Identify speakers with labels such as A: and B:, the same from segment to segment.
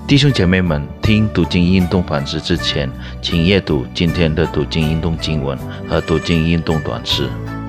A: 弟兄姐妹们，听读经运动反思之前，请阅读今天的读经运动经文和读经运动短诗。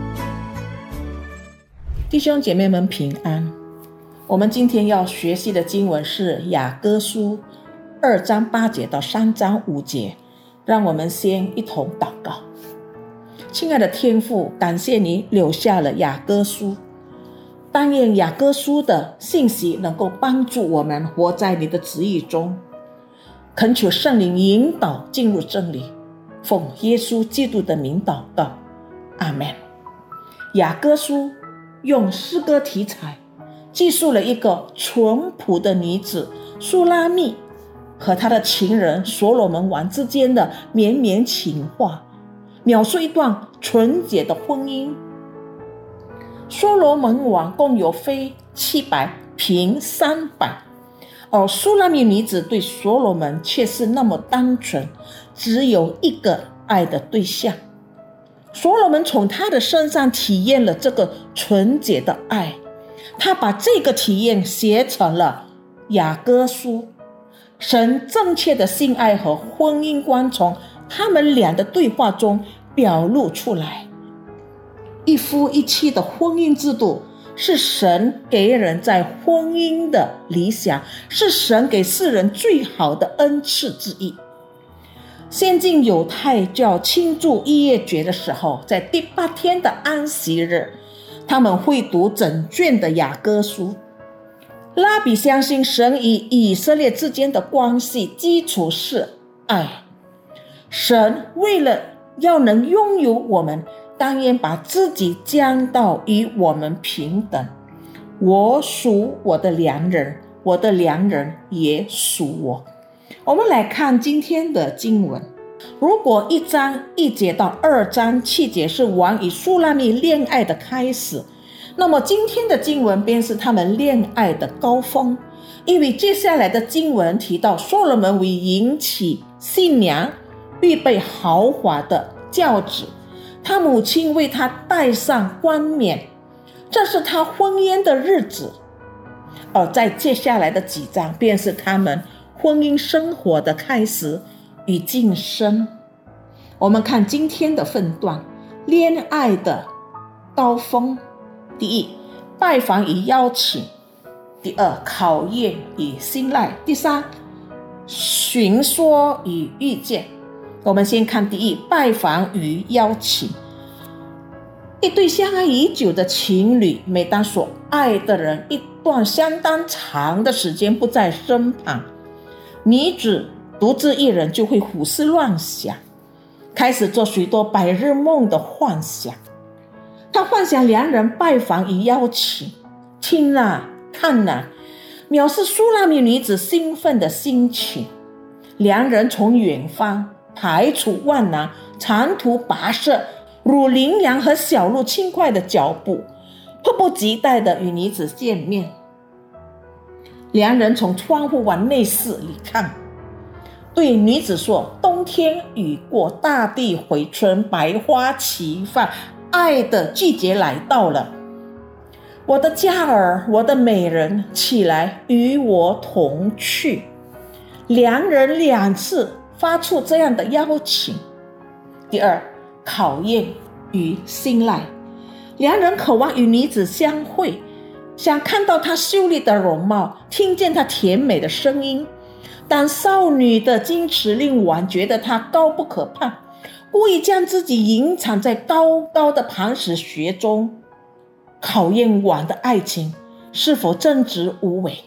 B: 弟兄姐妹们平安。我们今天要学习的经文是雅歌书2章8节到3章5节。让我们先一同祷告。亲爱的天父，感谢你留下了雅歌书，但愿雅歌书的信息能够帮助我们活在你的旨意中。恳求圣灵引导进入真理，奉耶稣基督的名祷告，阿们。雅歌书用诗歌题材记述了一个淳朴的女子苏拉密和他的情人所罗门王之间的绵绵情话，描述一段纯洁的婚姻。所罗门王共有妃700，嫔300，而苏拉密女子对所罗门却是那么单纯，只有一个爱的对象。所罗门从他的身上体验了这个纯洁的爱，他把这个体验写成了雅歌书。神正确的性爱和婚姻观从他们俩的对话中表露出来。一夫一妻的婚姻制度是神给人在婚姻的理想，是神给世人最好的恩赐之一。先进犹太教庆祝逾越节的时候，在第8天的安息日，他们会读整卷的雅歌书。拉比相信神与以色列之间的关系基础是爱，神为了要能拥有我们，当然把自己降到与我们平等。我属我的良人，我的良人也属我。我们来看今天的经文。如果1章1节到2章7节是王与苏拉密恋爱的开始，那么今天的经文便是他们恋爱的高峰。因为接下来的经文提到所罗门为迎娶新娘预备豪华的轿子，他母亲为他戴上冠冕，这是他婚姻的日子。而在接下来的几章便是他们婚姻生活的开始与晋升。我们看今天的分段，恋爱的高峰。第一，拜访与邀请；第二，考验与信赖；第三，寻说与遇见。我们先看第一，拜访与邀请。一对相爱已久的情侣，每当所爱的人一段相当长的时间不在身旁，女子独自一人就会胡思乱想，开始做许多白日梦的幻想。他幻想两人拜访与邀请，听啊看啊，藐视苏拉密女子兴奋的心情。两人从远方排除万难，长途跋涉，如羚羊和小鹿轻快的脚步，迫不及待地与女子见面。两人从窗户往内室里看，对女子说：冬天已过，大地回春，百花齐放，爱的季节来到了。我的佳儿，我的美人，起来与我同去。两人2次发出这样的邀请。第二，考验与信赖。两人渴望与女子相会，想看到她秀丽的容貌，听见她甜美的声音。但少女的矜持令王觉得她高不可攀，故意将自己隐藏在高高的磐石穴中，考验王的爱情是否正直无伪。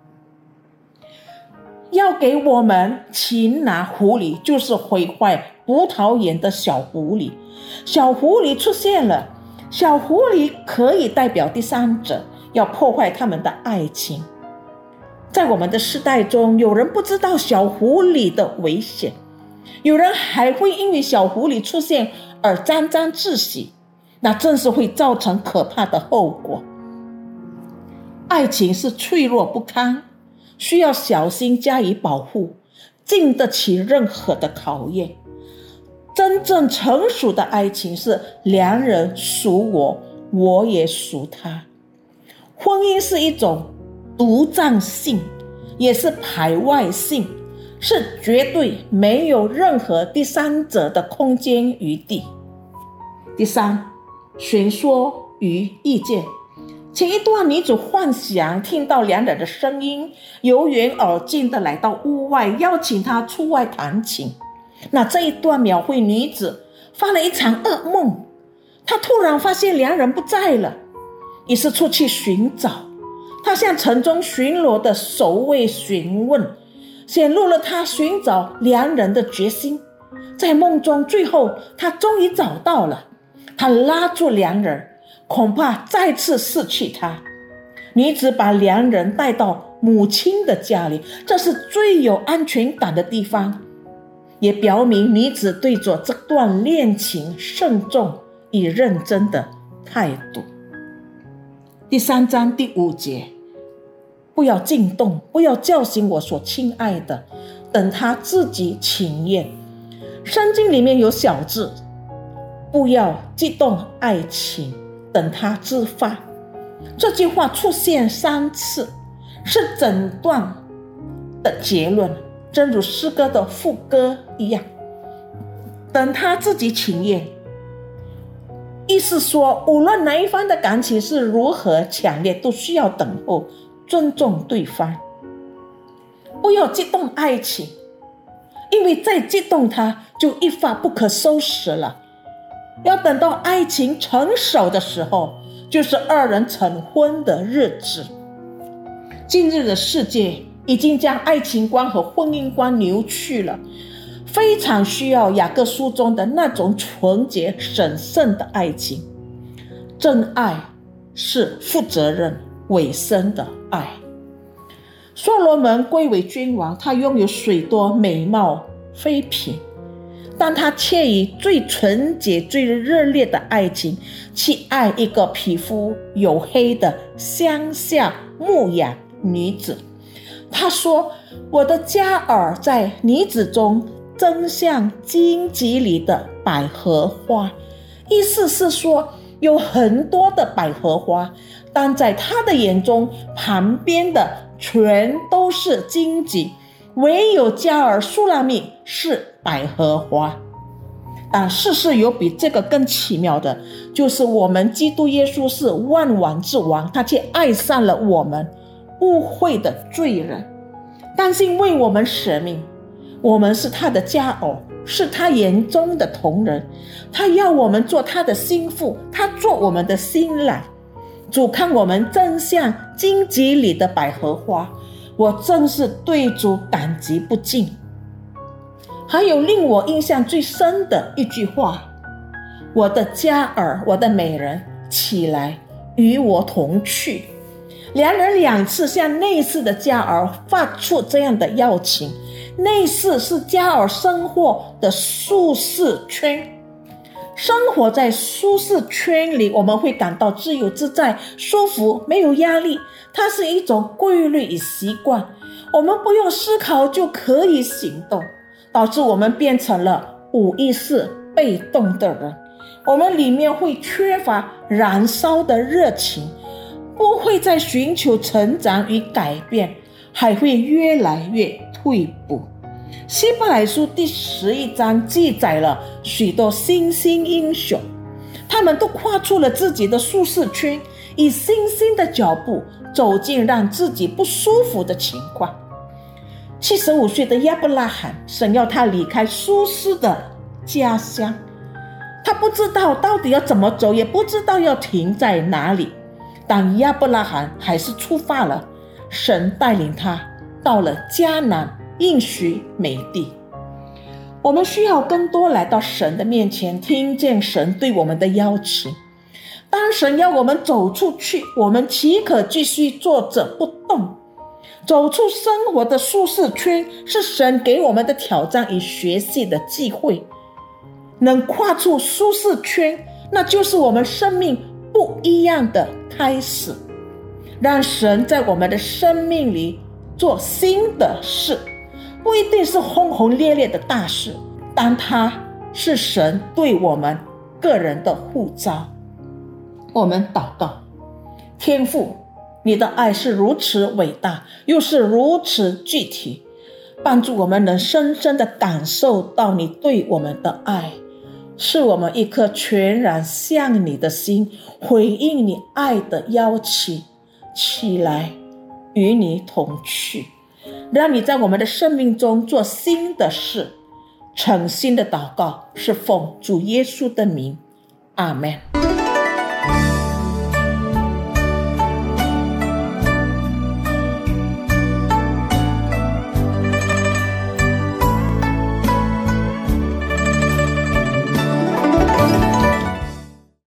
B: 要给我们擒拿狐狸，就是毁坏葡萄园的小狐狸。小狐狸出现了，小狐狸可以代表第三者，要破坏他们的爱情。在我们的时代中，有人不知道小狐狸的危险，有人还会因为小狐狸出现而沾沾自喜，那正是会造成可怕的后果。爱情是脆弱不堪，需要小心加以保护，经得起任何的考验。真正成熟的爱情是两人属我，我也属他。婚姻是一种独占性， 也是排外性，是绝对没有任何第三者的空间余地。第三，寻说与意见。前一段女主幻想听到两人的声音，由远而近的来到屋外，邀请他出外弹琴。那这一段描绘女子发了一场噩梦，她突然发现两人不在了，于是出去寻找。她向城中巡逻的守卫询问，显露了她寻找两人的决心。在梦中，最后她终于找到了，她拉住两人，恐怕再次失去他。女子把两人带到母亲的家里，这是最有安全感的地方，也表明女子对着这段恋情慎重与认真的态度。第3章第5节，不要惊动，不要叫醒我所亲爱的，等他自己请愿。圣经里面有小字，不要激动爱情，等他自发。这句话出现3次，是整段的结论，正如诗歌的副歌一样。等他自己请愿，意思说无论哪一方的感情是如何强烈，都需要等候，尊重对方。不要激动爱情，因为再激动它就一发不可收拾了。要等到爱情成熟的时候，就是二人成婚的日子。今日的世界已经将爱情观和婚姻观扭曲了，非常需要雅各书中的那种纯洁神圣的爱情。真爱是负责任委身的爱。所罗门贵为君王，他拥有许多美貌妃嫔，但他却以最纯洁最热烈的爱情去爱一个皮肤黝黑的乡下牧羊女子。他说，我的佳儿在女子中真像荆棘里的百合花。意思是说，有很多的百合花，但在他的眼中，旁边的全都是荆棘，唯有佳儿苏拉密是百合花。但事实有比这个更奇妙的，就是我们基督耶稣是万王之王，他却爱上了我们污秽的罪人，甘心为我们舍命。我们是他的佳偶，是他眼中的瞳人，他要我们做他的心腹，他做我们的新郎。主看我们真像荆棘里的百合花，我真是对主感激不尽。还有令我印象最深的一句话，我的佳儿，我的美人，起来与我同去。两人2次向内室的佳儿发出这样的邀请。内室是佳儿生活的舒适圈，生活在舒适圈里，我们会感到自由自在、舒服，没有压力。它是一种规律与习惯，我们不用思考就可以行动，导致我们变成了无意识被动的人。我们里面会缺乏燃烧的热情，不会再寻求成长与改变，还会越来越退步。希伯来书第11章记载了许多新兴英雄，他们都跨出了自己的舒适圈，以新兴的脚步走进让自己不舒服的情况。75岁的亚伯拉罕，神要他离开舒适的家乡，他不知道到底要怎么走，也不知道要停在哪里，但亚伯拉罕还是出发了。神带领他到了迦南应许美地。我们需要更多来到神的面前，听见神对我们的邀请。当神要我们走出去，我们岂可继续坐着不动？走出生活的舒适圈，是神给我们的挑战与学习的机会。能跨出舒适圈，那就是我们生命不一样的开始。让神在我们的生命里做新的事，不一定是轰轰烈烈的大事，但它是神对我们个人的呼召。我们祷告，天父， 你的爱是如此伟大，又是如此具体，帮助我们能深深地感受到你对我们的爱，是我们一颗全然向你的心，回应你爱的邀请，起来与你同去，让你在我们的生命中做新的事。诚心的祷告是奉主耶稣的名，阿们。